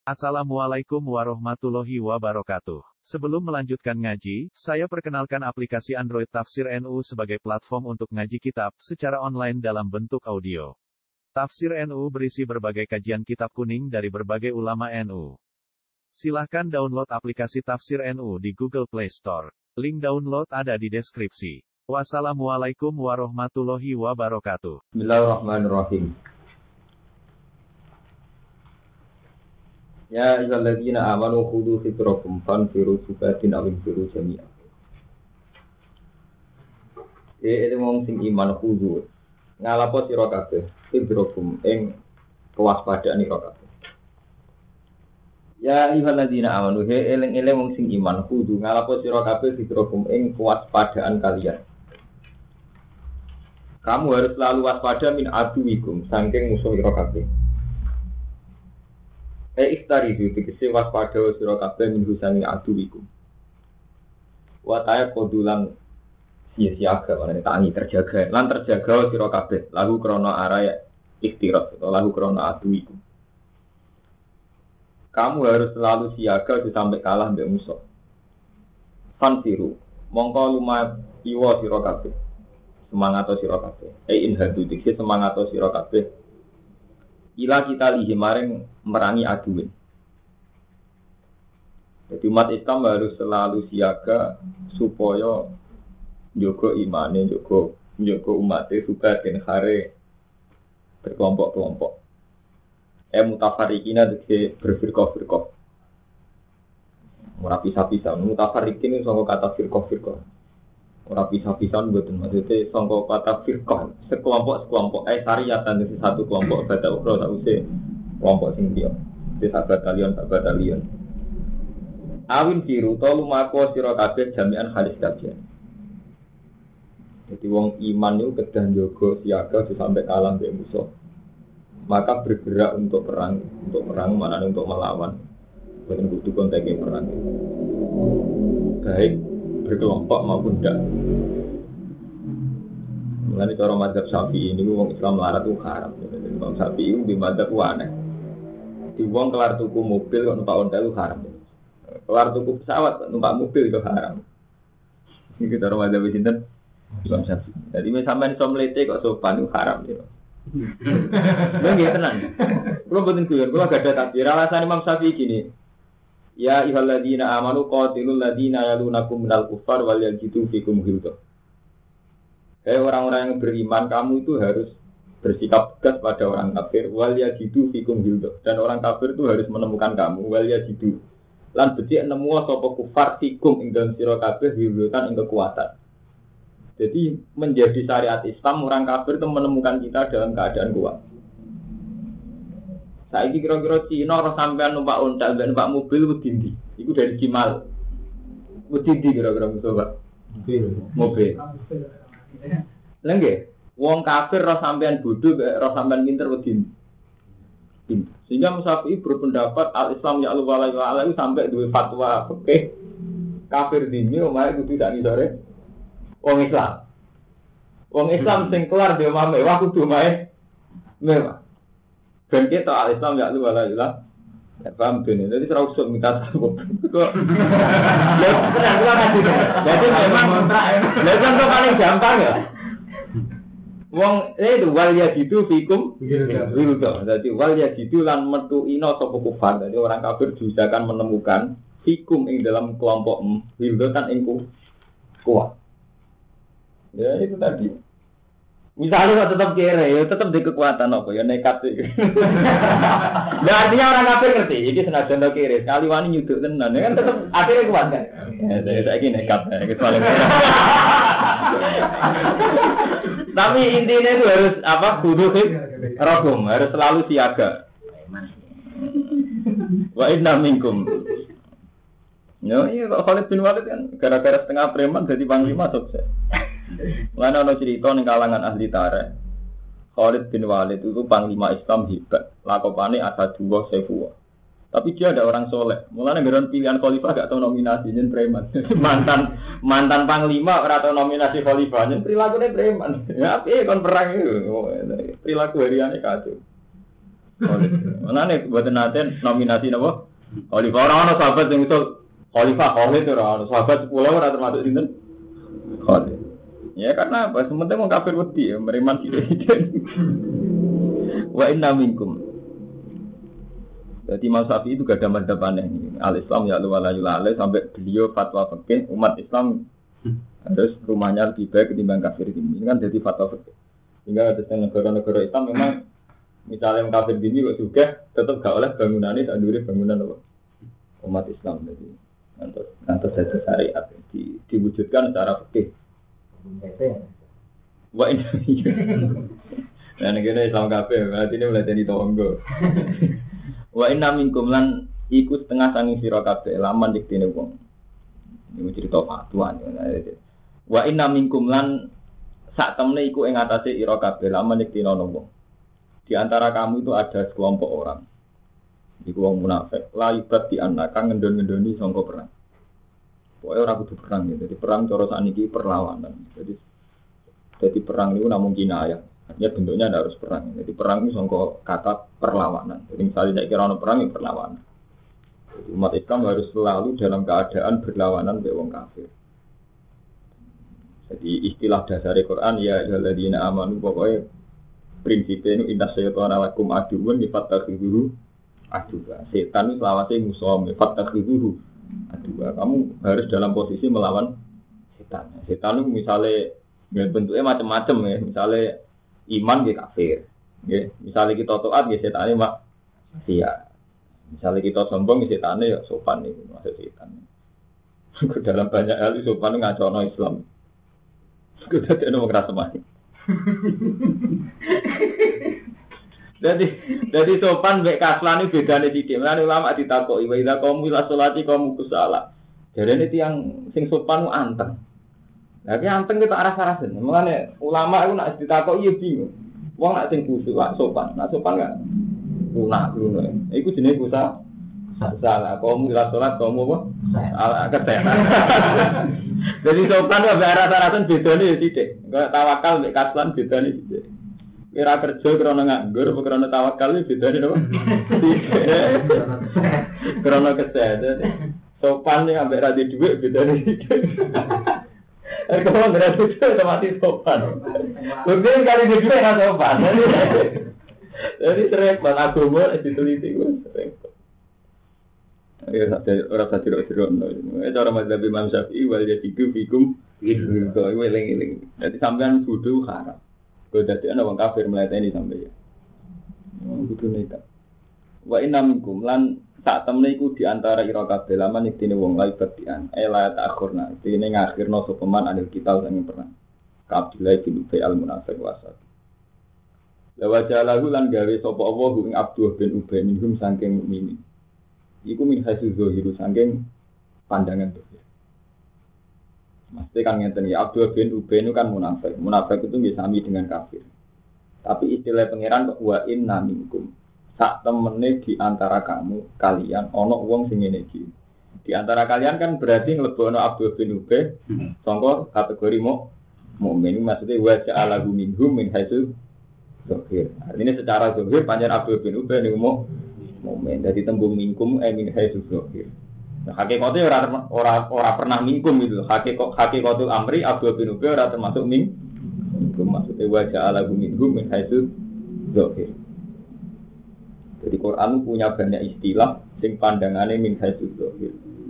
Assalamualaikum warahmatullahi wabarakatuh. Sebelum melanjutkan ngaji, saya perkenalkan aplikasi Android Tafsir NU sebagai platform untuk ngaji kitab secara online dalam bentuk audio. Tafsir NU berisi berbagai kajian kitab kuning dari berbagai ulama NU. Silahkan download aplikasi Tafsir NU di Google Play Store. Link download ada di deskripsi. Wassalamualaikum warahmatullahi wabarakatuh. Bismillahirrahmanirrahim. Ya ayyuhalladzina amanu khudhu fitrakum fanfiru subatin aw infiru jami'an. Ini wong sing iman khudhu ngalapo sira kabeh fitrakum ing kewaspadaan ira kabeh. Ya ayyuhalladzina amanu eling-eling wong sing iman khudhu ngalapo sira kabeh fitrakum ing kewaspadaan kalian. Kamu harus selalu waspada min aduwikum saking musuh ira kabeh. Ikhtaridu tegese waspada sira kabeh min husani aduwikum. Wa tayaqudulan sia-siaga manane tangi terjaga lan terjaga sira kabeh lahu krana araya ikhtirat atau lahu krana aduwikum. Kamu harus selalu siaga sampai kalah mbek musuh. Fanfiru mongko lumayiwa sira kabeh. Semangat sira kabeh. In hadu tegese semangat sira kabeh. Ila kita lihi maring merangi aduin. Jadi umat Islam harus selalu siaga supaya njogo imane, njogo umate juga den hare berkelompok-kelompok. Mutafarriqina dadi berfirqah-firqah. Ora pisah-pisah, mutafarriqin itu saka kata firqah-firqah. Ora pisah-pisahan mboten maksudnya sangka kata firqah sekelompok syariatan dari satu kelompok beda ukra sause kelompok sing liya desa batalion awin biru to lumaku sira kabeh jami'an halis kabeh. Jadi wong iman niku kedah njaga siaga sampai kalah mbek musuh. Maka bergerak untuk perang manane untuk melawan boten kudu konteke perang. Baik berkelompok maupun tidak. Mulane cara mazhab Syafi'i ini wong Islam larat itu haram. Imam Syafi'i di mazhab aneh. Di wong kelar tuku mobil kok numpak ontel itu haram. Kelar tuku pesawat kok numpak mobil itu haram. Iki cara mazhab sinten? Imam Syafi'i. Jadi men sampean iso mlete kok sopan itu haram ya. Lha nggih tenan. Kulo mboten guyon, kulo gak ada takbir. Alasan Imam Syafi'i gini. Ya ayyuhalladzina amanu qatilul ladzina yalunakum minal kuffar wal yajidu fikum ghilzah. Orang-orang yang beriman, kamu itu harus bersikap tegas pada orang kafir wal yajidu fikum ghilzah. Dan orang kafir itu harus menemukan kamu wal yajidu. Lan becik nemu sapa kufar fikum ing dalem sira kabeh ghilzatan ing kekuatan. Jadi menjadi syariat Islam orang kafir itu menemukan kita dalam keadaan kuat. Saiki kira-kira Cina ora sampean numpak ontak dan numpak mobil wedindi. Iku dari Gimal. Wedindi kira-kira Mustafa. Mobil. Lha nggih, wong kafir ora sampean bodho, ora sampean pinter wedindi. Sehingga Syafi'i berpendapat al-Islam ya Allah wala itu sampai duwe fatwa fikih kafir dini omahe kudu dak ngisore wong Islam. Wong Islam sing kelar dhewe mewah kudu omahe mewah. Ben kita al-Islam ya lu wala ilah. Ya paham ben. Jadi ora usah minta sambung. Kok. Ya tenang kasih. Jadi memang kontrak. Lah contoh paling gampang ya. Wong itu wal yajidu fikum ghilzah. Jadi wal yajidu lan metuina sapa kufar. Jadi orang kafir diusahakan menemukan fikum ing dalam kelompok ghilzah ing kuat. Ya itu tadi. Misalnya kok tetap kere, ya tetap di kekuatan apa ya nekat sih. Nah artinya orang kafir ngerti, ini senajan do kere, sekali wani nyuduk tenan, kan tetap akhirnya kuat kan. Ya saya ini nekat, kecuali. Tapi intinya itu harus apa? Kudu rogum, harus selalu siaga. Wa inna minkum. Ya iya Khalid bin Walid kan gara-gara setengah preman jadi panglima sukses. Mana ada cerita ning kalangan ahli tarikh. Khalid bin Walid itu panglima Islam hebat. Lakopane Asadullah Saifullah. Tapi dia ada orang soleh. Mulane nggon pilihan khalifah gak tau nominasi nyen preman. mantan panglima ora tau nominasi khalifah nyen prilakune preman. Ya piye kon perang itu. Perilaku hariane kacau. Mana nih buat nanti nominasi napa? Khalifah orang sahabat yang itu Khalifah Khalid orang sahabat 10 orang termasuk sinten? Khalid. Ya karena apa? Sementara mau kafir wedi, beriman tidak. Wa inna minkum. Jadi Imam Syafi'i itu gak ada mazhab aneh. Al-Islam ya wala yulale sampai beliau fatwa fikih umat Islam harus rumahnya lebih baik ketimbang kafir ini. Ini kan jadi fatwa fikih. Sehingga ada negara-negara Islam memang misalnya yang kafir ini kok juga tetap gak oleh bangunan ini tak bangunan apa? Umat Islam jadi nanti saja syariat diwujudkan secara fikih. Wah ini, nah negara Islam kafir, berarti ini mulai jadi tonggo. Wah inna minkum lan ikut setengah sanging sira kabeh laman diktine wong. Ini cerita patuan. Wa inna minkum lan sak temne iku ing atase ira kabeh laman diktine wong. Di antara kamu itu ada sekelompok orang. Iku wong munafik, laibat di anak kang ngendon-ngendoni sangka perang. Pokoknya orang kudu perang ya. Jadi perang cara sakniki perlawanan. Jadi perang itu namun kinayah. Artinya bentuknya tidak harus perang. Jadi perang itu sangka kata perlawanan. Jadi misalnya saya kira orang perang itu perlawanan. Jadi umat Islam harus selalu dalam keadaan berlawanan dengan wong kafir. Jadi istilah dasar Al-Quran ya alladzina amanu pokoknya prinsipnya itu inna syaitana lakum aduwwun fattakhidhuhu aduwwa. Setan itu selawase musuh fattakhidhuhu aduh, kamu harus dalam posisi melawan setan. Setan itu misalnya bentuknya macam-macam ya. Misalnya iman dia kafir, ya. Misalnya kita taat dia setannya maksiat. Misalnya kita sombong dia setannya ya sopan itu maksud setan. Dalam banyak hal sopan ngacono Islam. Kita tidak mau keras semuanya. Jadi sopan mek kaslan iki bedane sithik. Mulane ulama ditakoki wa idza qaum ila sholati qaum kusala. Jarene tiyang sing sopan ku anteng. Lah ki anteng kita arah-arahen. Mulane ulama iku nek ditakoki ya bingung. Wong nek sing kusuk sopan, nek sopan gak punah ngono. Iku jenenge kusala. Salah qaum ila sholat qaum apa? Ala kesehatan. Jadi sopan ku arah-arahen bedane sithik. Kayak tawakal mek kaslan bedane sithik. Kira kerja karena nganggur, apa karena tawakal itu bedanya apa? Karena kesehatan, sopan nih ambil radi duit bedanya itu. Kalau nggak radi duit otomatis sopan. Mungkin kali dia juga nggak sopan. Jadi sering banget agama diteliti gue sering. Orang tadi orang mazhab Imam Syafi'i wal jadiku fikum itu, gue eling-eling. Jadi sampean kudu haram. Kalau jadi anak orang kafir melayani sampai ya, butuh nekat. Wa inna minkum lan tak temne iku di antara ira kabeh laman iktine wong lain betian. La ta'khurna. Dene ngakhirno sopeman anil kita sing pernah. Kabila bin Ubay al-Munafiq wasat. La wajalahu lan gawe sapa Allah ing Abdullah bin Ubay minhum saking mukminin. Iku min hasil zahiru saking pandangan tuh. Mesti kan ngeten ya Abdul bin Ubay itu kan munafik. Munafik itu bisa sami dengan kafir. Tapi istilah pangeran wa inna minkum. Sak temene di antara kamu kalian ana wong sing ngene iki. Di antara kalian kan berarti nglebono Abdul bin Ubay sangka kategori mukmin. Maksudnya wa ja'ala minhum min haitsu zahir. Artinya secara zahir panjenengan Abdul bin Ubay niku mukmin. Dadi tembung minkum min haitsu zahir. Nah, hakikatnya orang pernah mingkum itu. Hakikatul amri Abdul bin Ubay orang termasuk mingkum. Maksudnya wajah ala minhum min haitsu zahir. Jadi Quran punya banyak istilah sing pandangannya min haitsu zahir.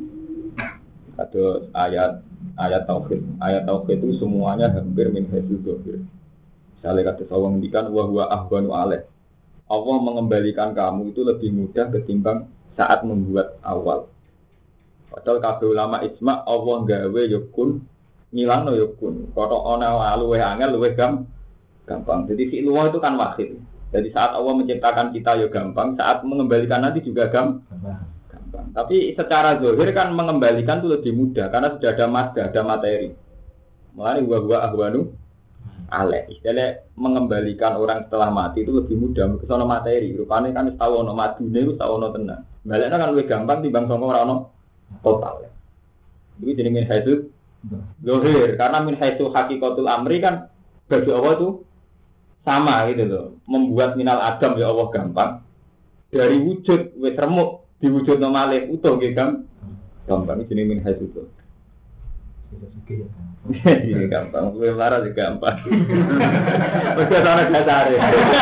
Ada ayat tauhid. Ayat tauhid itu semuanya hampir min haitsu zahir. Misalnya kata Allah mendikan wa huwa ahwanu alaih. Allah mengembalikan kamu itu lebih mudah ketimbang saat membuat awal. Padahal kabeh ulama ijma Allah gawe yukun ngilangno yukun. Kok ana luwih angel luwih gampang. Jadi fi'il itu kan wahid. Jadi saat Allah menciptakan kita ya gampang, saat mengembalikan nanti juga gampang. Tapi secara zahir kan mengembalikan itu lebih mudah karena sudah ada madda, ada materi. Mulane wa ahwanu alaih. Istilahnya mengembalikan orang setelah mati itu lebih mudah mergo sono materi. Rupane kan wis tau ono madune, wis tau ono tenan. Balekna kan luwih gampang timbang sangka ora ono total. Ini jadi min haitsu zahir karena min haitsu hakikatul amri kan bagi Allah itu sama gitu loh. Membuat minal adam ya Allah gampang. dari wujud wis remuk diwujudno malih utuh nggih Kang. Gampang jenenge min haitsu itu. Ini gampang, gue marah juga gampang. Oke, sana dasare.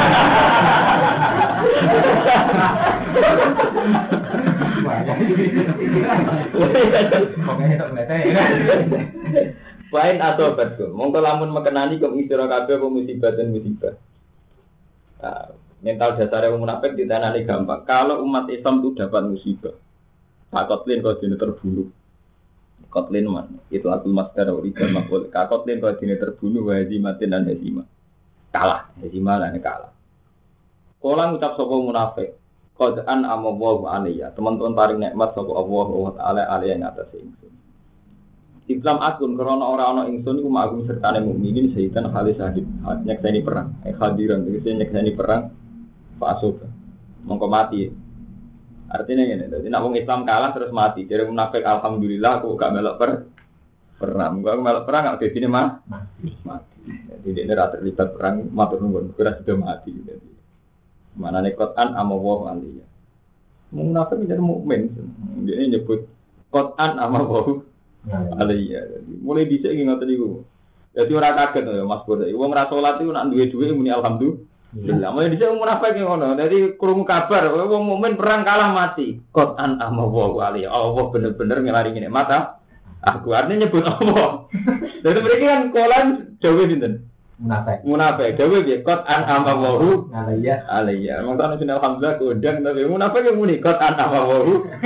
Wain atau betul, mongko lamun mekenani kok isira kabeh apa musibah dan musibah. Mental dasare wong munafik ditanani gampang. Kalau umat Islam itu dapat musibah, takotlin kok dene terbunuh. Kotlin man, itu aku master original makul. Kotlin kau dini terbunuh, wajimatin dan hezimah. Kalah, hezimah lah ini kalah. Kala ngucap sapa munafik, qad'an amallahu alayya. Teman-teman paring nikmat sapa Allah wa taala alayya ing atas ingsun. Islam akun krana ora ana ingsun iku ma'agum sertane mukminin sayyidan khalis hadid. Nyekseni perang, hadiran tegese nyekseni perang fa'asuba. Mongko mati. Artinya gini, jadi nak wong Islam kalah terus mati. Jadi munafik alhamdulillah aku gak melok perang. Aku melok perang gak begini mah mati. Jadi dia rata terlibat perang matur nuwun kira sudah mati. Jadi mana nekotan amawahu aliyah. Munafik menjadi mukmin. Dia nyebut kotan amawahu aliyah. Mulai dhisik iki ngoten niku. Jadi ora kaget ya Mas Bro. Wong ra salat iku nak duwe-duwe muni alhamdulillah. Lah mulai dhisik munafik ngono. Dadi krungu kabar wong mukmin perang kalah mati. Qatan amawa wali. Allah bener-bener ngelari nikmat aku artinya nyebut Allah. Dadi mriki kan kolan dawuh dinten. Munafik. Dawuh piye? Qatan amawa alayya. Monggo ana sing alhamdulillah kondang tapi munafik yang muni qatan amawa.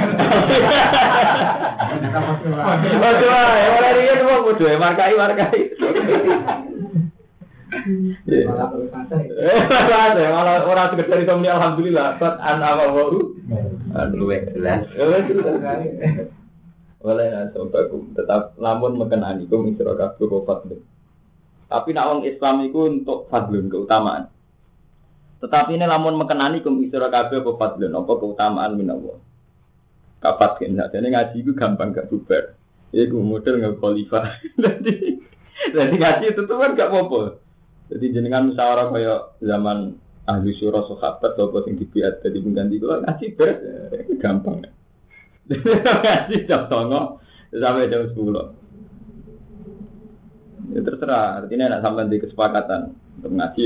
Waduh, ora riyen wong kudu markai. Malah orang sekedar itu muni alhamdulillah qad ana wa waru luwe jelas oleh nasobakum tetap lamun mekenanikum isra kabeh fadlun tapi nak wong Islam iku untuk fadlun keutamaan tetapi ini lamun mekenanikum isra kabeh fadlun apa keutamaan minallah kapat kena dene ngaji iku gampang gak bubar iku model nggak khalifah jadi ngaji itu tuh kan gak apa-apa. Jadi jenengan musyawarah kaya zaman ahli syura sahabat atau sing dibiat dadi pengganti kula ngaji beres gampang. Ngaji jam 09.00 sampai jam 10. Ya terserah, artinya nek sampean di kesepakatan untuk ngaji.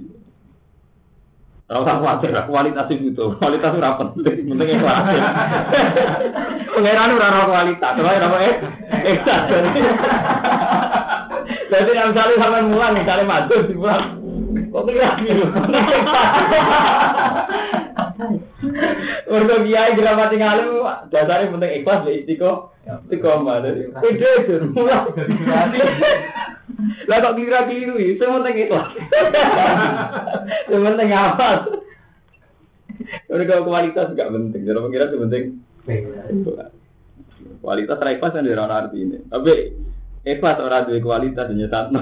Ora usah kuwatir, kualitas itu kualitas ora penting, penting ikhlas. Pengeran ora kualitas, ora ikhlas. Jadi misalnya sampai mulang, misalnya maju di pulang, kok tidak gitu? Untuk kiai gramati ngalim, dasarnya penting ikhlas, istiqomah. Jadi ide itu mulang. Lah kok kira keliru, sementing ikhlas. Sementing apa? Kalau kualitas nggak penting, jadi mengira sementing kualitas ikhlas kan tidak arti ini, tapi ikhlas orang duwe kualitas menyesatno.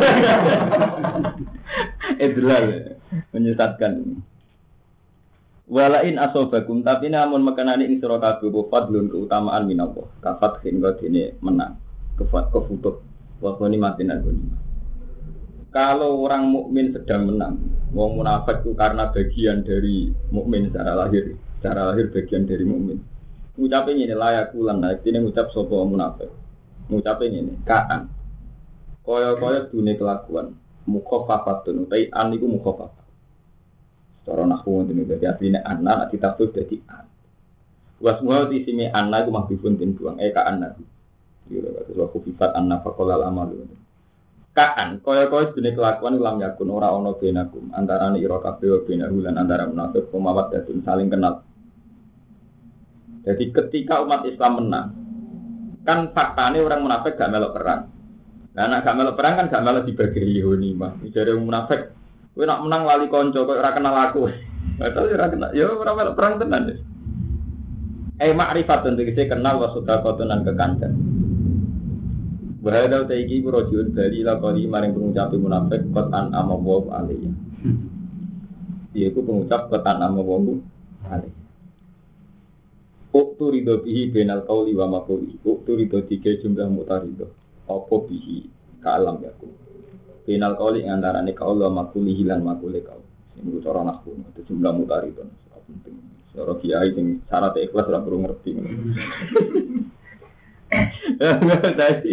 Idlal menyesatkan. Walain asobakum tapi namun makanane ing sira kabeh fadlun keutamaan minallah. Kafat hingga dene menang. Kefutuh. Wa matin agoni. Kalau orang mukmin sedang menang, wong munafik itu karena bagian dari mukmin secara lahir bagian dari mukmin. Ngucape ngene layakulan, artine ngucap sapa munafik. Ngucapin ini, kaan kaya dunia kelakuan mukhafafatun, utai an itu mukhafafat secara nahwu ini, jadi aslinya anna, nak ditafsir jadi an wasmuha disini anna itu mahbibun tin buang, kaan nabi sesuatu kufifat anna fakolal amal kaan, kaya dunia kelakuan ulam yakun, ora ono benakum antara ni irokabeo benahulan antara munafik pemawat datun saling kenal. Jadi ketika umat Islam menang kan faktanya orang munafik gak melok perang. Nah, nak gak melok perang kan gak melok dibagi ghanimah. Jadi orang munafik, kowe nak menang lali kanca kowe ora kenal aku. Padahal ora kenal, ya ora melok perang tenan. Ma'rifat tentu kita kenal wa sedaqatun lan kekancan. Bahaya taiki ku rajul bali la kali maring pengucap munafik qatan amawu alaiya. Dia ku pengucap qatan amawu alaiya. Uktu ridho bihi benal kauli wa makuli. Uktu ridho tiga jumlah mutarido. Apa bihi ka'alam yaku. Benal kauli antarane kaul wa makuli hilan makuli kaul. Ini cara nahwu. Itu jumlah mutarido. Penting. Cara kiai sing syarat ikhlas ora perlu ngerti. Tadi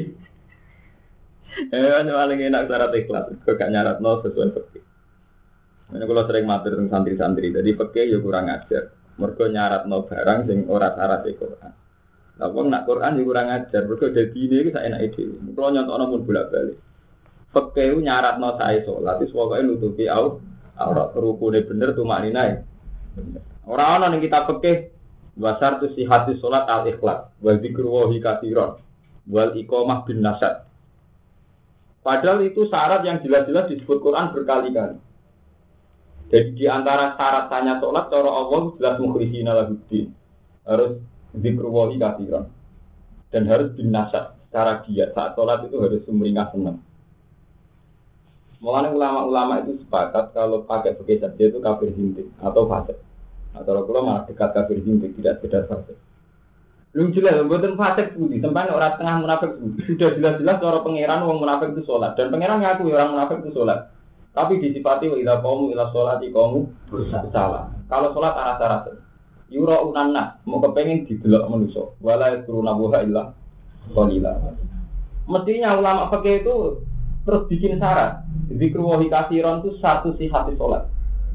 paling enak syarat ikhlas, kok gak nyaratno sesuai fikih. Ini kalau sering matur tentang santri-santri, jadi fikih ya kurang ajar. Mergo nyaratno barang sing ora syarat Quran. Lah wong nak Quran ya kurang ajar, mergo dadi ini sak enake dhewe. Kalau nyontokno pun bolak-balik. Fikih nyaratno sae salat, wis pokoke nutupi aurat rukune bener tumakninae. Ora ana ning kitab fikih wasar tu sihati salat al-ikhlas wal dzikru wa hikatiron wal iqamah bin nasad. Padahal itu syarat yang jelas-jelas disebut Quran berkali-kali. Jadi di antara syarat tanya sholat, cara Allah jelas mukhlisina lahuddin. Harus dzikru wa hikatiron. Dan harus bin nasad. Secara giat saat sholat itu harus sumringah senang. Mulanya ulama-ulama itu sepakat kalau pakai fikih saja itu kafir zindik atau fasik. Atau kalau malah dekat kafir zindik, tidak sekedar fasik. Belum jelas, buatan fasik budi, sampai orang tengah munafik budi. Sudah jelas-jelas cara pangeran orang munafik itu sholat. Dan pangeran ngaku orang munafik itu sholat. Tapi disifati wa idza qamu ila sholati qamu salah. Kalau sholat arah-arah yura'unanna, mau kepengin didelok manusa. Wala yadkuruna buha illa qalila. Mestinya ulama fikih itu terus bikin syarat. Zikru wa hikatiron itu satu sihati sholat.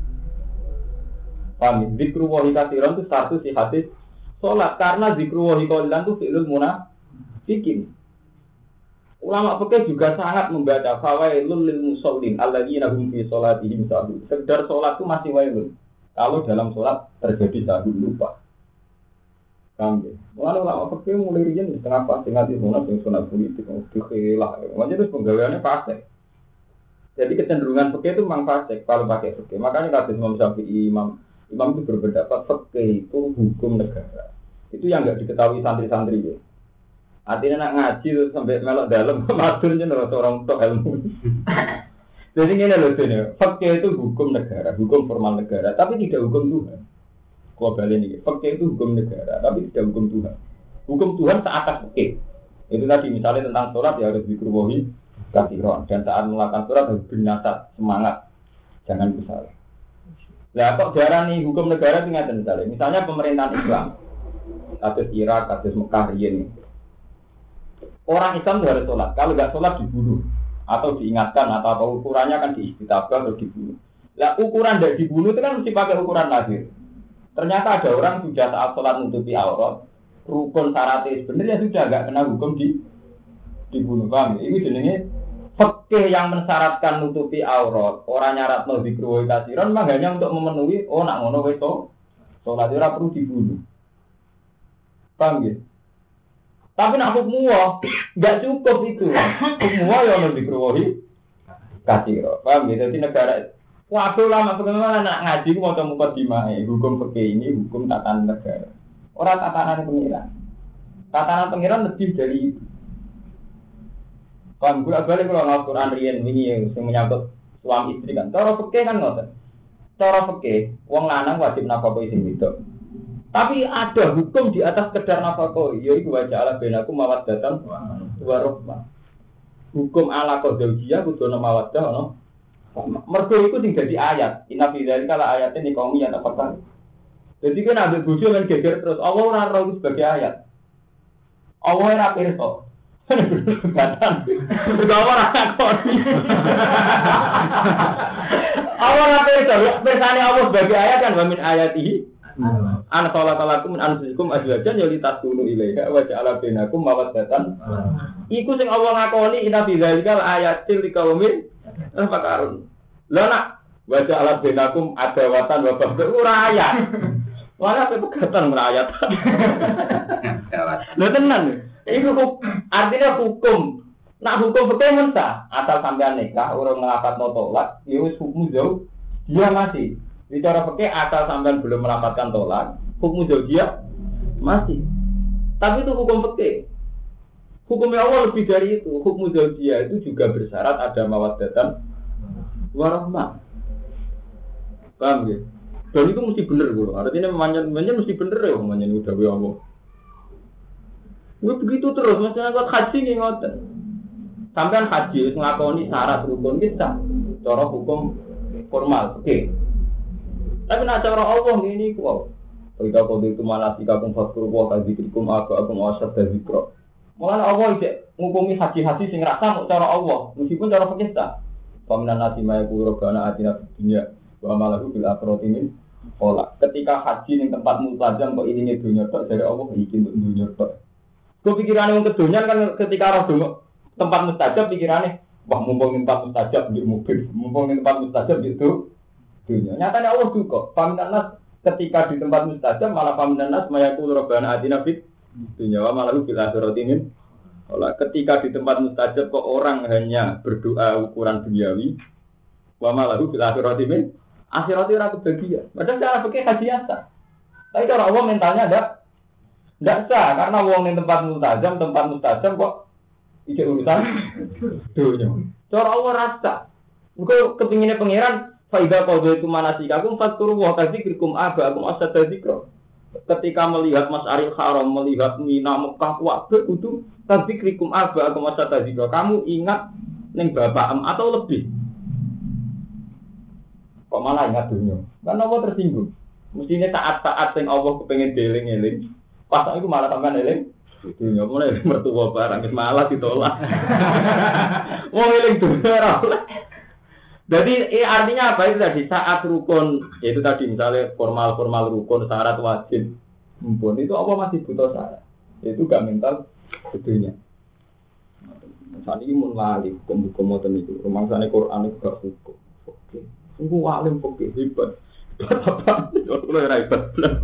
Paham? Zikru wa hikatiron itu satu sihati sholat. Karena zikru wa hikatiron itu fi'lul munafikin. Ulama fikih juga sangat membaca fawailul lil musallin alladzina hum fi sholatihim sahun. Sekedar sholat itu masih wailun. Kalau dalam sholat terjadi sahun lupa. Kambing. Ulama fikih mulai riyen setengah pas ngati sunat politik dikhilah. Makanya itu penggaweannya fasik. Jadi kecenderungan fikih itu memang fasik kalau pakai fikih. Makanya kata Imam Syafi'i, Imam itu berpendapat fikih itu hukum negara. Itu yang enggak diketahui santri-santri ya. Artinya nak ngaji terus sampai melok dalam maturnya nurut orang tok ilmu. Jadi ini loh ini, fikih itu hukum negara, hukum formal negara, tapi tidak hukum Tuhan. Kau balik ini, fikih itu hukum negara, tapi tidak hukum Tuhan. Hukum Tuhan seatas fikih. Itu tadi misalnya tentang sholat ya harus dikruwohi kafiron, dan saat melakukan sholat harus bernasab semangat, jangan bersalah. Nah kok jarang nih hukum negara ingat misalnya pemerintahan Islam, kasus Irak, kasus Mekah ini. Orang Islam harus sholat. Kalau nggak sholat dibunuh atau diingatkan atau ukurannya kan diistitabah atau dibunuh. Nah ukuran dari dibunuh itu kan mesti pakai ukuran lahir. Ternyata ada orang sudah saat sholat nutupi aurat, rukun syaratnya sebenarnya sudah nggak kena hukum dibunuh. Paham? Ini jenenge fikih yang mensyaratkan nutupi aurat. Orang nyarat no dzikru wa kasiron mah hanya untuk memenuhi nak ngono wis sholat ora perlu dibunuh. Paham ya? Tapi nak hukum nggak cukup itu. Hukum yang harus dikeruhi kasiro. Paham gitu? Jadi negara. Waduh lama bagaimana nak ngaji mau coba dimai. Hukum fikih ini hukum tatanan negara. Orang tatanan pengiran. Tatanan pengiran lebih dari itu. Paham? Gue balik kalau Al-Quran rian ini yang menyangkut suami istri kan. Cara fikih kan ngoten. Cara fikih, wong lanang wajib nafkah sing wedok. Tapi ada hukum di atas sekedar nafkah, yaitu wajah ala benakum mawaddatan warahmah. Hukum ala qazaujiyah kudu ana mawaddah ana. Mergo iku sing dadi ayat. Inna fi dzalika la ayatin liqaumi yatafakkarun. Jadi kan ambil bojo men geger terus Allah ora ora sebagai ayat. Allah ora pirsa. Batan. Allah ora takoni. Allah ora pirsa. Pirsane Allah sebagai ayat kan wa min ayatihi ana salatallakum min anfusikum azwajan yalitaskunu ilaiha wa ja'ala bainakum mawaddatan. Iku sing Allah ngakoni inna fi dzalikal ayatil liqaumin yatafakkarun. Lah nak wa ja'ala bainakum adawatan wa baghdha ora ayat. Wala pegatan merayat. Lho tenan. Iku artinya hukum. Nak hukum fikih mensah asal sampean nikah urung nglapatno tolak ya wis hukum jauh dia masih. Bicara fikih asal sampean belum melamatkan tolak, hukum zaujiyah masih. Tapi itu hukum fikih. Hukumnya Allah lebih dari itu. Hukum zaujiyah itu juga bersyarat ada mawaddatan warahmah. Paham ya? Dan itu mesti bener bro. Artinya manjan mesti bener ya, manjan udah Allah. Gue begitu terus, maksudnya buat haji nih ngoten. Sampean haji ngakoni syarat rukun kita, cara hukum formal, oke. Tapi nak cara Allah ini kok Ketika kau itu mana sih kakum faktur wa kadzikrikum akum asad dzikra. Mulane Allah iki ngukumi haji-haji sing rasa mau cara Allah, meskipun cara fikih ta. Paminan nasi maya kurogana atina dunya wa malahu bil akhirati min ola. Ketika haji ning tempat multazam kok ilinge dunya tok dari Allah iki untuk dunya tok. Ku pikirane wong kedonyan kan ketika ora donga tempat mustajab pikirane wah mumpung tempat mustajab di mobil, mumpung tempat mustajab itu dunya. Nyatane Allah juga paminan nas ketika di tempat mustajab malah paminan nas maya kurogana atina fit dunya wa malahu bil akhirati min ola. Ketika di tempat mustajab kok orang hanya berdoa ukuran duniawi, wa malahu bil akhirati min akhirati ora kebahagiaan. Padahal cara fikih haji asa. Tapi cara Allah mentalnya ndak sah karena wong ning tempat mustajab kok iki urusan dunia. Cara Allah rasa. Engko kepingine pangeran faida qadha itu manasikakum faturu wa kadzikrikum abakum asad dzikra. Ketika melihat Mas'aril Haram, melihat Mina Mekah kabeh kudu kadzikrikum abakum asad dzikra. Kamu ingat ning bapakmu atau lebih. Kok malah ingat dunia? Karena Allah tersinggung. Mestinya saat-saat yang Allah kepengen dieling-eling, pas itu malah tambah eling dunia. Mulai mertua barang, malah ditolak. Mau eling dunia ora. Jadi artinya apa itu tadi? Saat rukun, yaitu tadi misalnya formal rukun, syarat wajib, mumpun itu Allah masih butuh syarat. Itu gak mental dunia. Saat ini mun wali hukum moten itu, rumah sana Quran itu gak hukum. Oke. Sungguh alim pokok hebat. Apa? Kalau hebat.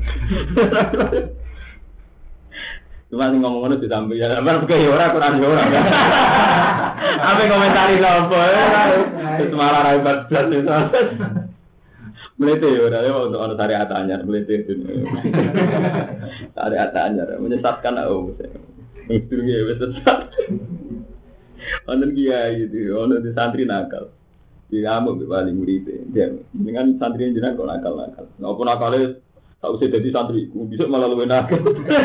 Cuma sing ngomong-ngomong ditambahi ya, apa pokok ora Quran yo ora. Apa komentari apa? Terus malah hebat blas itu. Melete yo ora untuk ono syariat anyar, melete itu. Syariat anyar menyesatkan aku. Itu ya wis sesat. Ono kiai itu, ono di santri nakal. Diamuk paling murid dia dengan santri jenengan kok nakal-nakal. Napa nakale tak usah dadi santri, bisa malah luwih nakal.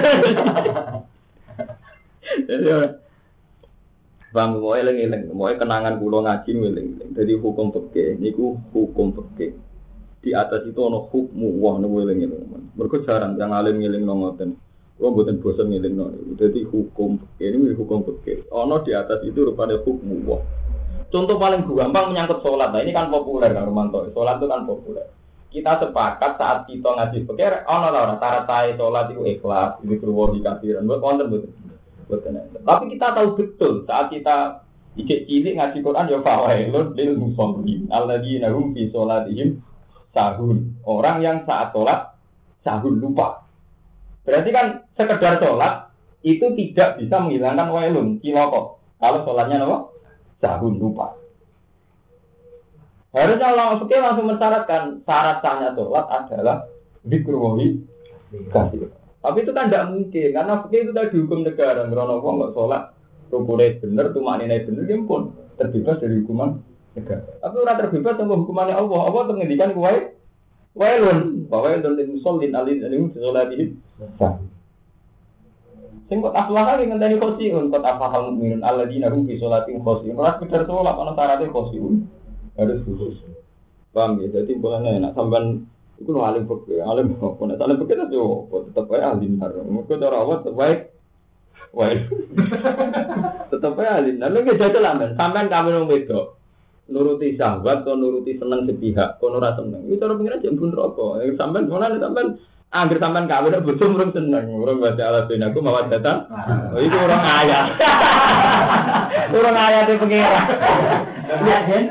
Bang mau eling-eling, mau kenangan kula ngaji eling-eling. Jadi hukum fikih niku hukum fikih. Di atas itu ana hukmu wah niku eling-eling. Mergo jarang yang alim ngelingno ngoten. Kula mboten bosen ngelingno. Dadi hukum fikih niku hukum fikih. Ana di atas itu rupane hukmu wah. Contoh paling gampang menyangkut sholat. Nah ini kan populer kan Romanto. Sholat itu kan populer. Kita sepakat saat kita ngaji fikih, orang syarat sholat itu ikhlas, itu keluar di kafiran. Betul. Tapi kita tahu betul saat kita ijek cilik ngaji Quran ya fawailun lil musallin alladzina hum fi sholatihim sahun. Orang yang saat sholat sahun lupa. Berarti kan sekedar sholat itu tidak bisa menghilangkan wailun kiloko. Kalau sholatnya apa? Sahun lupa. Harusnya langsung mensyaratkan syarat sahnya sholat adalah dikruhi kasih. Tapi itu kan tidak mungkin karena fikih itu tadi hukum negara. Merono wong nggak sholat rukunnya bener, tumakninanya bener, dia pun terbebas dari hukuman negara. Tapi orang terbebas sama hukumannya Allah. Allah menghentikan wailun bahwa yang dari musallin alim sholatihim sah. Singkot aflah lagi ngenteni khosiun, kot afahal mukminun alladzina hum fi sholatihim khosiun. Ora sekedar sholat ana syaratnya khosiun. Harus khusus. Paham ya? Jadi bolehnya enak sampean iku no alim fikih, alim kok nek alim fikih yo tetep wae alim nar. Mergo cara awak tetep wae. Tetep wae alim. Nek nggih jajal sampean kawin wong wedok. Nuruti sahabat atau nuruti seneng sepihak, kono ora seneng. Iku cara pengen aja mbun rokok. Sampean mana sampean angger sampean kawin bojo murung seneng, murung baca ala ben aku mawat datang. Oh itu orang ayat. Orang ayat itu pengira. Lihat kan.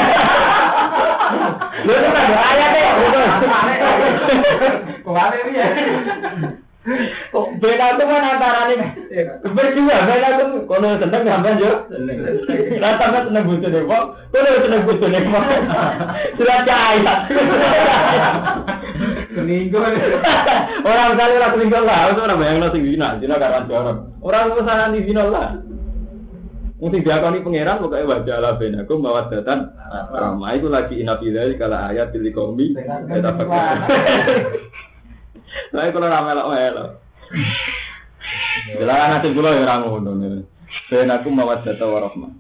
Lu kan ada ayat ya. Kemana dia? Kok beda tuh kan antara nih berdua beda tuh kono seneng sampean yo. Lah sampean seneng bojo deh kok. Kono seneng bojo deh kok. Sudah ayat. Selingkuh. Orang kali ora selingkuh lah, ora bayangno sing zina karan jorok. Ora urusan di zina lah. Mesti diakoni pangeran pokoke wajah benakum mawaddatan rahmah itu lagi inapidai kala ayat di qaumi eta fakir. Lah kalau ramelok-melok. Jelas nasib kula ya ora ngono. Benakum mawaddatan warahmah.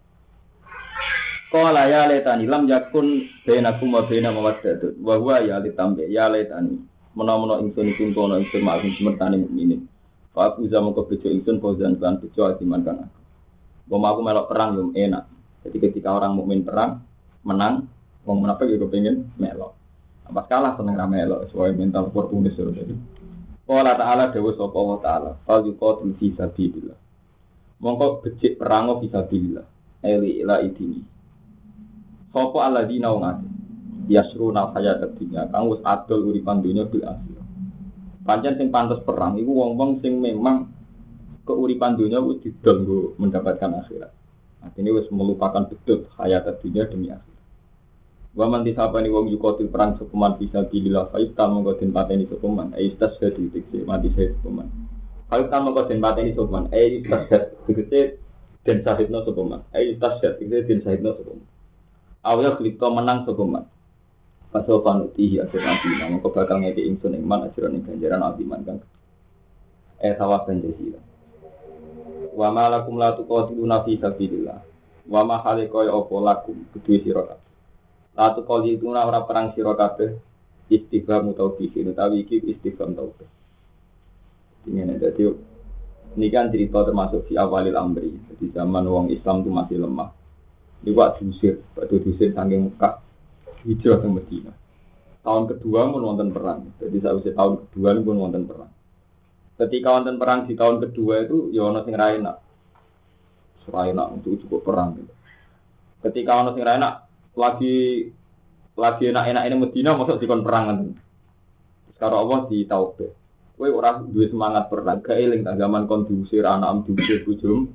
Qala ya laitani lam yakun bainakum wa baina mawaddatun wa huwa ya litambi ya laitani menawa ingsun iku kono ingsun maksud semertane mukminin. Fa aku zaman kebejo ingsun fauzan kan bejo adiman kan. Wong aku melok perang yo enak. Jadi ketika orang mukmin perang menang, wong munafik yo kepengin melok. Pas kalah seneng ra melok, soalnya mental opportunis terus jadi. Allah Ta'ala dewa sapa Allah Ta'ala, fal yuqatil fi sabilillah. Mongko becik perang fi sabilillah. Eli ila idini. Sapa alladzina wong akeh. Yasruna hayat dunya, kang wis adol uripan dunya bil akhir. Pancen sing pantes perang iku wong-wong sing memang keuripan dunya wis didol nggo mendapatkan akhirat. Artinya wis melupakan betul hayat dunya demi akhirat. Wa man disapani wong yukotil perang sepeman bisa bilillah fa ital monggo den pateni sepeman aistas dadi dikse mati sepeman fa ital monggo den pateni sepeman aistas dikse den sahidno sepeman aistas dikse den sahidno sepeman awya klipto menang sepeman pasopan utihi akhir nanti monggo bakal ngeke ingsun iman ajaran ing ganjaran abiman kan sawab benjira wa ma lakum la tuqatiluna fi sabilillah wa ma halika ya apa lakum kedue sira Latu kali itu orang perang sira kabeh istighfar mutaubih utawi iki istighfar taubat. Dene dadi ini kan cerita termasuk di awalil amri. Jadi zaman wong Islam itu masih lemah. Ini wak diusir saking Mekah hijrah ke Madinah. Tahun kedua pun wonten perang. Jadi sausé tahun kedua ini pun wonten perang. Ketika wonten perang di tahun kedua itu ya ono sing ra enak. Ora enak untuk cukup perang. Ketika ono sing ra enak lagi enak-enak ini Medina masuk dikon perangan. Sekarang Allah di taubeh. Kowe ora duwe semangat perang, gak eling tak zaman kon diusir anak diusir bujum.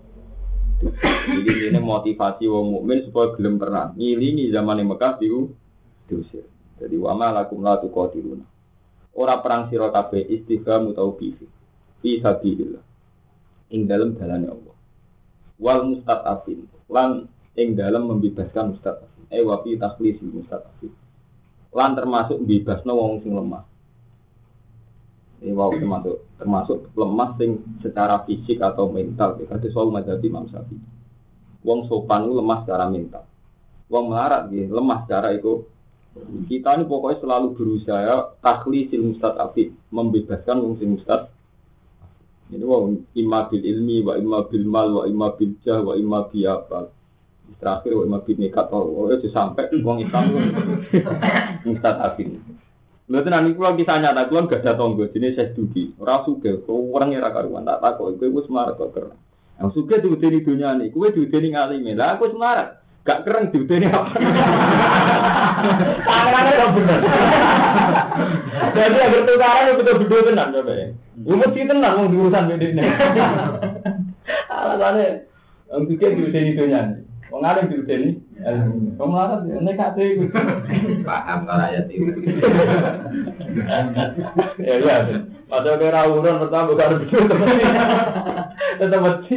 Jadi ini motivasi wong mukmin supaya gelem perang. Ngilingi zaman Mekah diusir. Jadi wa ma lakum la tuqatiluna. Ora perang sira kabeh istighfar mutaubih. Fi sabilillah. Ing dalem dalane Allah. Wal mustadafin lan ing dalem membebaskan mustadaf. Wafi takhlis mustadafin. Lan termasuk bebasno wong sing lemah. Wau termasuk lemah sing secara fisik atau mental. Kata soal mazhab Imam Syafi'i. Wong sopan lemah secara mental. Wong melarat nggih lemah secara itu. Kita ini pokoknya selalu berusaha takhlisil mustadafin, membebaskan wong sing mustad. Ini wong imma bil ilmi wa imma bil mal wa imma bil jah wa imma bi apa. Terakhir wa mabit nekat itu sampai wong Islam mustadafin. Lha tenan niku kisah nyata kuwi gak ada tangga jenenge Syekh Duki. Ora sugih, orang ora karuan tak takok kowe wis marek kok keren. Yang sugih diudeni donyane, kowe diudeni ngalime. Lah aku wis marek, gak keren diudeni apa. Tangan kok bener. Jadi agar tukaran betul-betul tenan coba ya. Mesti tenan wong diurusan bedene. Alasane wong sugih diudeni donyane. Wong alim diudeni, wong melarat nekat iku. Paham kalau ayat itu. Ya. Padahal kira urun pertama bukan begitu. Tetap mati.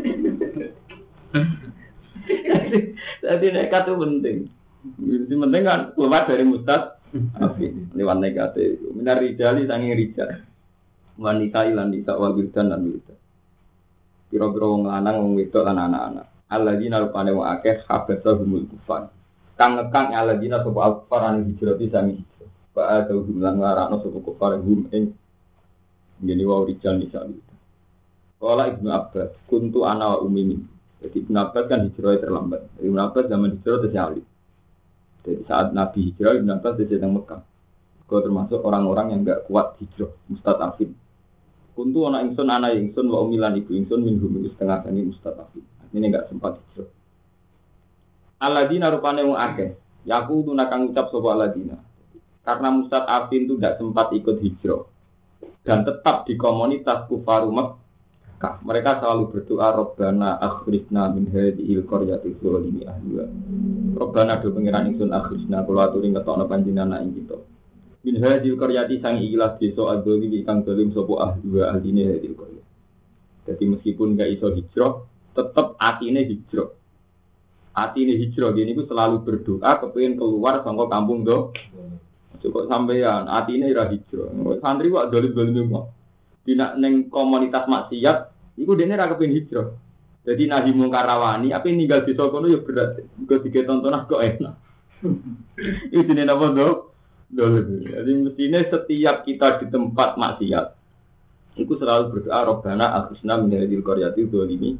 Jadi nekat itu penting. Itu penting kan keluar dari mustad. Lewat nekat itu. Minar rijali sanging rijal. Wanita ilan nisa wal wirdan dan wirdan. Piro-piro wong lanang wong wedok lan anak-anak. Alladzina rupane wa akeh habasahumul kufar. Kang ngekang alladzina sapa al-kufar ing hijrah sami hijrah. Ba ada hubungan ngarakno sapa kufar hum ing ngene wae rijal nisa. Kala Ibnu Abbas, kuntu ana wa ummi. Jadi Ibnu Abbas kan hijrah terlambat. Ibnu Abbas zaman hijrah tersalib. Jadi saat Nabi hijrah Ibnu Abbas sedang Mekah. Kau termasuk orang-orang yang enggak kuat hijrah, mustadafin. Kuntu ana ingsun wa umilan ibu ingsun minhum setengah sani mustadafin. Ini enggak sempat hijrah. Alladzina rupane wong akeh. Yaku tunakang ucap sapa alladzina. Karena mustadafin itu enggak sempat ikut hijrah dan tetap di komunitas kufaru Mekah. Mereka selalu berdoa Rabbana akhrijna min hadhil qaryati dzalimi ahliha. Rabbana do pangeran ingsun akhrijna kula aturi ngetokno panjenengan ing kita. Min hadhil qaryati sang ikhlas desa adzalimi kang zalim sapa ahliha ahline hadhil qaryah. Jadi meskipun enggak iso hijrah tetap atine hijrah. Atine hijrah gini ku selalu berdoa kepengin keluar saka kampung do. Cukup sampean atine ora hijrah. Santri kok dolim-dolim kok. Dina ning komunitas maksiat iku dene ora kepengin hijrah. Jadi nahi mungkar rawani apa ninggal desa kono ya berat. Kok dike tontonan kok enak. Iki dene napa do? Jadi mestinya setiap kita di tempat maksiat, itu selalu berdoa Robbana aghithna min hadhil qaryati dzalimi.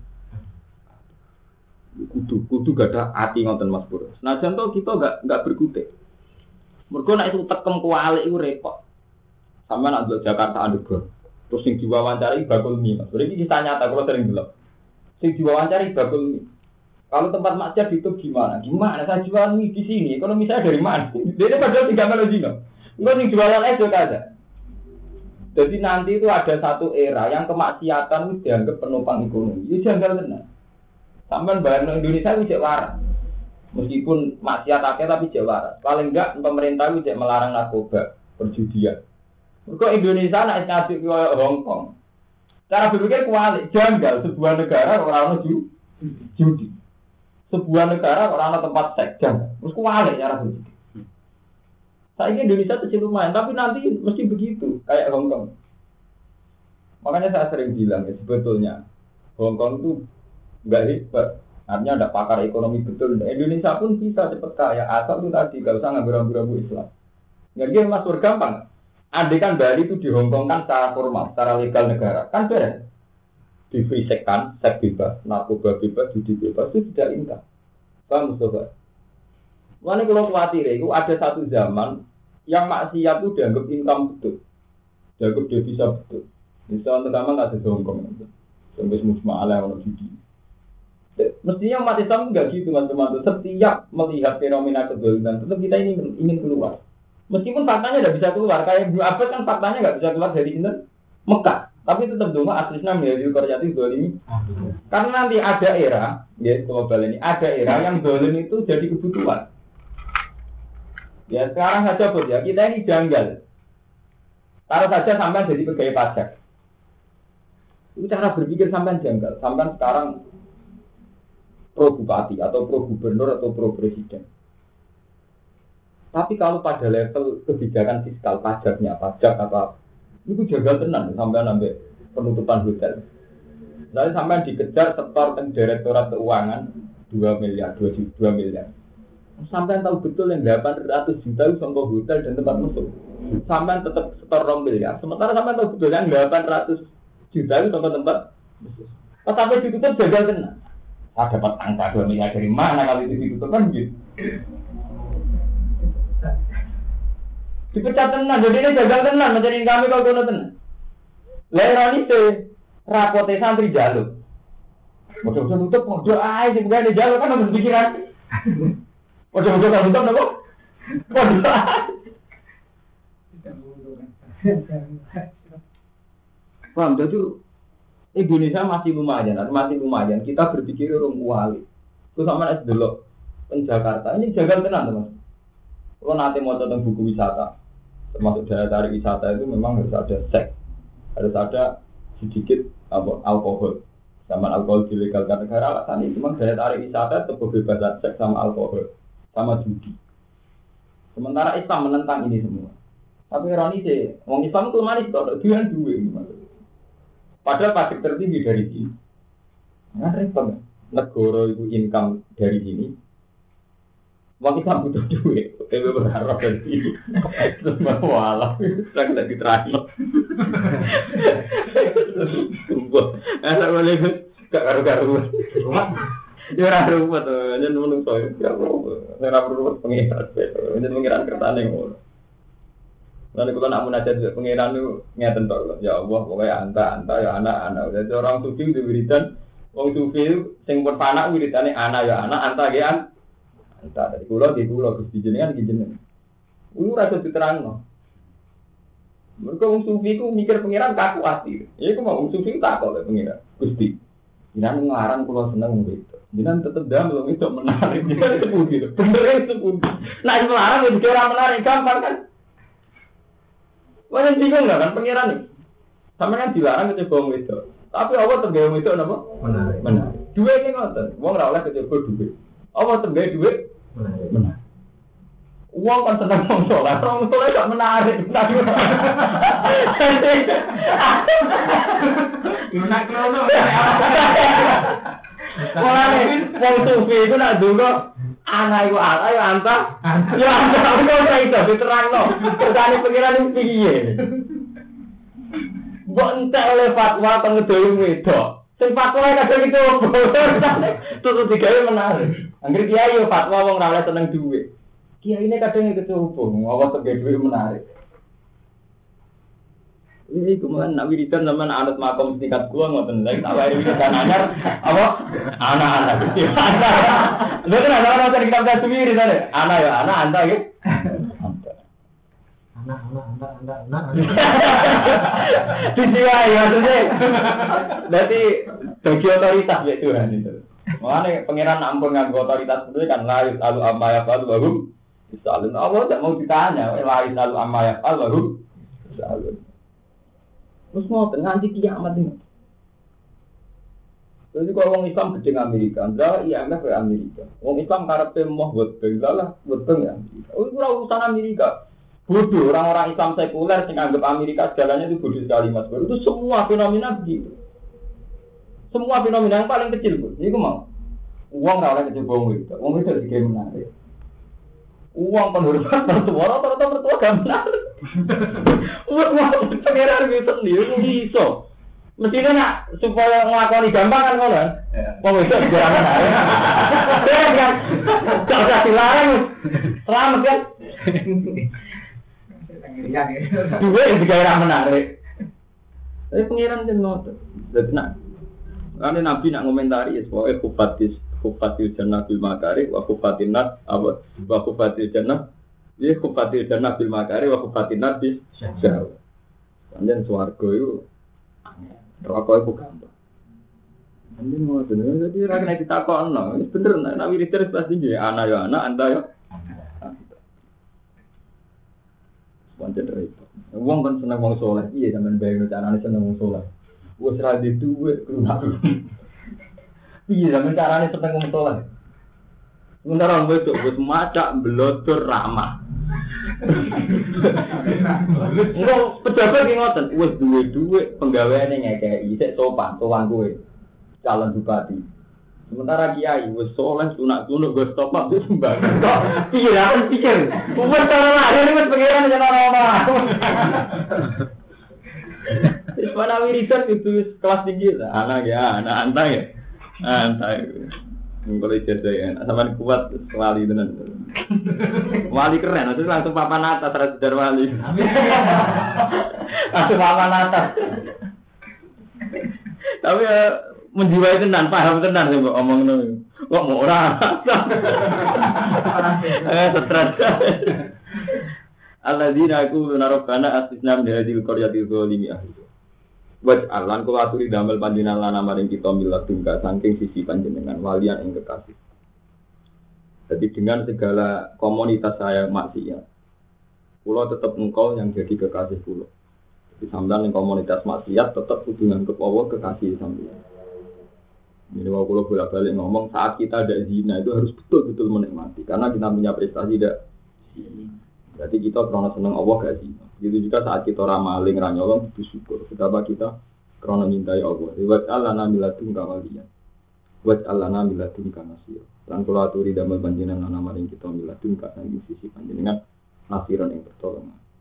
Kudu gak ada hati ngoten Mas Pur. Senajan to kita enggak berkutik. Mergo nek itu tekem kualik iku repot. Sampeyan nak ndelok Jakarta Underground. Terus sing diwawancari bakul mie. Mas. Ini kisah nyata kalau sering delok. Sing diwawancari bakul mie. Kalau tempat maksiat itu gimana? Gimana saya jual mie di sini? Ekonomi saya dari mana? Dia padahal tinggal melo dino. Enggak sing jualan es juga ada. Jadi nanti itu ada satu era yang kemaksiatan itu dianggap penopang ekonomi. Itu janggal tenan. Sampai bayang Indonesia itu cek waras. Meskipun maksiat akeh tapi cek waras. Paling enggak pemerintah itu cek melarang narkoba, perjudian. Kok Indonesia nak ngaduk koyo Hong Kong. Cara berpikir kualik, janggal sebuah negara orang judi. Sebuah negara orang tempat seks janggal. Terus kualik cara berpikir. Saiki Indonesia kecil lumayan, tapi nanti mesti begitu kayak Hong Kong. Makanya saya sering bilang ya, sebetulnya Hong Kong itu enggak hebat, artinya ada pakar ekonomi betul. Indonesia pun bisa cepat kaya, asal itu tadi enggak usah ngambil-ngambil Islam. Ngerti Mas gampang. Andai kan Bali itu di Hong Kong kan secara formal, secara legal negara, kan beres. Divisekkan, seks bebas, narkoba bebas, judi bebas, itu tidak income. Paham Mustafa? Mana kalau khawatir itu ada satu zaman yang maksiat itu dianggap income betul, dianggap devisa betul. Misalnya pertama nggak ada Hong Kong, sampai semua ala orang judi. Mestinya umat Islam enggak gitu teman-teman. Setiap melihat fenomena kezaliman, tetap kita ingin keluar. Meskipun faktanya tidak bisa keluar, kayak Ibnu Abbas kan faktanya nggak bisa keluar dari Mekah, tapi tetap doa aslisnya menjadi korjati zalim. Karena nanti ada era, ya global ini ada era yang zalim itu jadi kebutuhan. Ya sekarang saja bos ya, kita ini janggal. Taruh saja sampai jadi pegawai pajak. Itu cara berpikir sampai janggal, sampai sekarang pro bupati atau pro gubernur atau pro presiden. Tapi kalau pada level kebijakan fiskal pajaknya, pajak apa itu jagal tenan sampai penutupan hotel. Lalu sampai dikejar setor direktorat keuangan 2 miliar. Sampai tahu betul yang 800 juta itu contoh hotel dan tempat masuk. Sampai tetap setor 2 miliar. Sementara sampai tahu betul yang 800 juta itu contoh tempat masuk. Tapi ditutup jagal tenan. Saya dapat angka 2 miliar dari mana kalau itu ditutup kan gitu. Dipecat tenan, jadi ini gagal tenan mencari kami kalau kono tenan. Leroni se rapote santri jaluk. Moga-moga nutup moga ae sing bukan jaluk kan harus pikiran. Moga-moga kalau nutup napa? Paham, jadi Indonesia masih lumayan. Kita berpikir orang wali. Terus sama es delok Jakarta ini jagal tenan teman. Kalau nanti mau tentang buku wisata, termasuk daya tarik wisata itu memang harus ada seks, harus ada sedikit alkohol. Zaman alkohol dilegalkan negara alasan ini memang daya tarik wisata itu kebebasan seks sama alkohol, sama judi. Sementara Islam menentang ini semua. Tapi ironi sih, orang Islam itu manis kalau dia duit. Padahal pajak tertinggi dari sini. Nah repot, negara itu income dari sini. Wong kita butuh duit, tapi berharap dari sini. Terus malah, sekarang kita diterakhir. Assalamualaikum, gak karu-karuan. Ya ora ruwet, yen menungso ya ora perlu pengiran. Yen pengiran kertane ngono. Lalu kalau nak munajat pengiran itu ngeten tok. Ya Allah, pokoknya anta ya anak. Jadi orang sufi diberikan wong sufi sing berpanak wiritane anak ya anak, anta ya anta dari kula di kula Gusti jenengan iki jenengan. Iku ora diterangno. Mergo wong sufi ku mikir pengiran kaku ati. Iku mau wong sufi tak kok pengiran. Gusti. Jenengan ngarang kula seneng gitu. Jenengan tetep damel itu menarik. Jenengan sepundi. Bener sepundi. Nah itu larang wis ora menarik gampang kan. Wong bingung kan pengiran iki. Sampe kan dilarang kecewa wong itu. Tapi Allah tegawe wong itu napa? Menarik. Duwe iki ngoten. Wong ora oleh kecewa duwe. Allah tegawe duwe menarik. Uang kan senang orang soleh gak menarik. Lunak krono. Wong sufi itu nak dulu Anak iku ayo anta. Ya anta ora iso diterangno. Kersane pengiran iki piye? Mbok entek oleh fatwa teng ngedoyo wedok. Sing fatwa kadang itu terus digawe menarik. Anggere kiai yo fatwa wong ora oleh seneng dhuwit. Kiai ini kadang ikut hubung, awas sebagai dhuwit menarik. Ini kemudian nak wiridan zaman anak makom tingkat gua ngoten lagi tak wae wiridan anyar apa anak-anak gitu. Lha kan ana orang kita sendiri tadi. Anak ya anak anda gitu. Anak. Dijiwa ya maksudnya. Berarti bagi otoritas ya Tuhan itu. Makanya pengiran ampun nganggo otoritas itu kan lain lalu amma yafal baru misalnya Allah tidak mau ditanya lain lalu amma yafal baru misalnya. Terus mau nganti kiamat ini. Jadi kalau orang Islam gede Amerika, anda IMF ke Amerika. Orang Islam karepe mau buat lah, buat ya Amerika. Urusan Amerika. Bodoh orang-orang Islam sekuler yang anggap Amerika segalanya itu bodoh sekali mas. Itu semua fenomena begitu. Semua fenomena yang paling kecil pun. Ini mau. Uang rawat kecil bohong itu. Uang itu juga menarik. Uang penghormatan mertua, rata-rata mertua gak menarik. Uang pengeran gitu sendiri bisa. Mestinya nak supaya ngelakoni gampang kan kan? Wong itu juga menarik. Kan? Gak usah dilarang. Selamat kan? Dua yang juga menarik. Tapi pengiran kan ngotot. Jadi nak, karena Nabi nak ngomentari ya soal kufatil jannah bil makari wa kufatin nas apa wa kufatil jannah ya kufatil jannah bil makari wa kufatin nas bis syahwat. Panjen swarga itu rokok itu gampang. Panjen ngoten jadi ra kena ditakokno. Wis bener nek wiridan pasti nggih ana ya ana anta ya. Panjen repot. Wong kan seneng wong saleh piye sampean bayangno carane seneng wong saleh. Wis ra di duwe keluar. Iya, zaman caranya seneng ngomong soleh. Sementara orang besok buat macak, belodor, ramah. Enggak, pejabat yang ngoten. Wes duwe penggawaian yang kayak isek sopan gue. Calon bupati. Sementara kiai, wes soleh, sunak-sunak, gue stopak, gue sembah. Pikir, aku pikir. Wes cara lahir, wes pengiran jangan orang-orang. Mana wiridan itu kelas tinggi. Anak ya, anak anta ya. Antai, kalau jadi sama kuat wali tenan. Wali keren, itu langsung papan atas rasidar wali. Langsung papan atas. Tapi menjiwai tenan, paham tenan sih mbok omongno. Kok mau ora? Stres. Alladzina aku narokana asisna min hadil qaryati zalimi. Buat alan kula aturi damel panjenengan lan maring kita miladun ka saking sisi panjenengan walian ing kekasih. Jadi dengan segala komunitas saya maksiat, kula tetap engkau yang jadi kekasih kula. Jadi sampeyan ing komunitas maksiat tetap kudu nganggep Allah kekasih sampeyan. Ini kalau kula bolak-balik ngomong saat kita ada zina itu harus betul-betul menikmati karena kita punya prestasi tidak. Berarti kita karena senang Allah gak zina. Begitu juga saat kita ramaling ranyolong bersyukur. Betapa kita karena mintai Allah. Wa ta'ala miladun kawaliyan. Wa ta'ala miladun kanasir. Dan kalau aturi damel panjenengan nama maring kita miladun ka sang sisi panjenengan nasiran yang pertolongan.